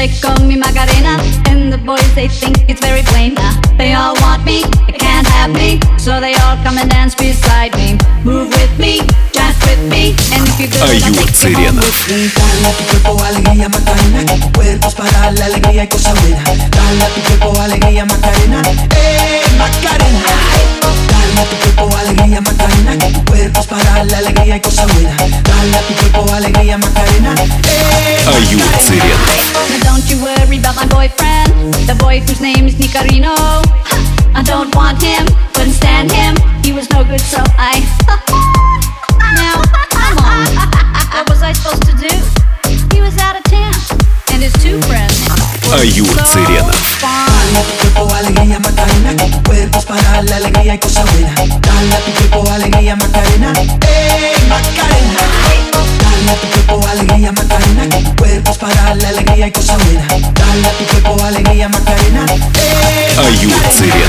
they call me Macarena, and the boys they think it's very plain. They all want me, they can't have me, so they all come and dance beside me. Move with me, dance with me, and if you do, I'll take you home with me. Dale a tu cuerpo alegría Macarena, que tu cuerpo es para la alegría y cosa buena. Dale a tu cuerpo alegría Macarena, Macarena. Dale a tu cuerpo alegría Macarena, que tu cuerpo es para la alegría y cosa buena. Dale a tu cuerpo alegría Macarena, Аюр-Цирен. Now don't you worry about my boyfriend, the boy whose name is Nicarino. I don't want him, couldn't stand him, he was no good, so I Now, come on, what was I supposed to do? He was out of town, and his two friends were Аюр-Цирен. so Dale a tu cuerpo alegría Macarena, que tu cuerpo es para la alegría y cosa buena. Dale a tu cuerpo alegría Macarena, Macarena. Dale a tu cuerpo alegría Macarena, que tu cuerpo es para la alegría y cosa buena. Dale a tu cuerpo alegría Macarena, Аюр-Цирен.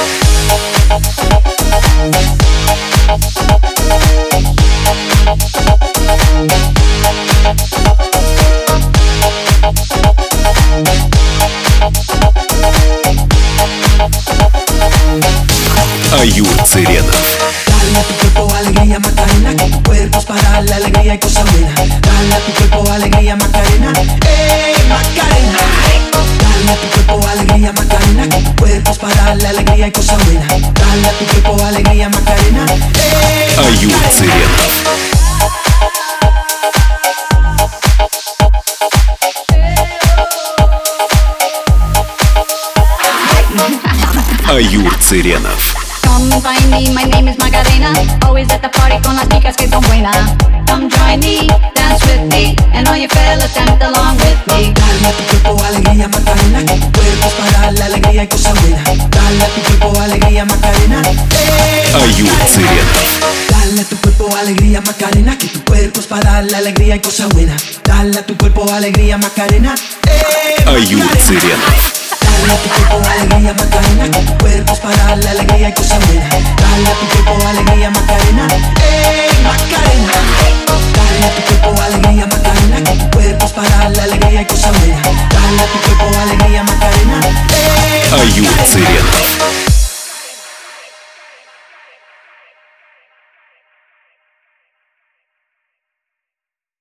Аюр-Цирен. Dale a tu cuerpo alegría Macarena, que tu cuerpo es para la alegría y cosa buena. Dale a tu cuerpo alegría Macarena, Macarena. Dale a tu cuerpo alegría Macarena, que tu cuerpo es para la alegría y cosa buena. Dale a tu cuerpo alegría Macarena, Аюр-Цирен. Аюр-Циренов. Come find me, my name is Macarena, always at the party con las chicas que son buenas. Come join me, dance with me, and all you fellas dance along with me. Dale a tu cuerpo alegría Macarena, que tu cuerpo es para la alegría y cosa buena. Dale a tu cuerpo alegría Macarena, Аюр-Цирен. Dale a tu cuerpo alegría Macarena, que tu cuerpo es para la alegría y cosa buena. Dale a tu cuerpo alegría Macarena, Аюр-Цирен. Dale a tu cuerpo alegría Macarena, que tu cuerpo es para la alegría y cosa buena. Dale a tu cuerpo alegría Macarena, Macarena. Dale a tu cuerpo alegría Macarena, que tu cuerpo es para la alegría y cosa buena. Dale a tu cuerpo alegría Macarena, Аюр-Цирен.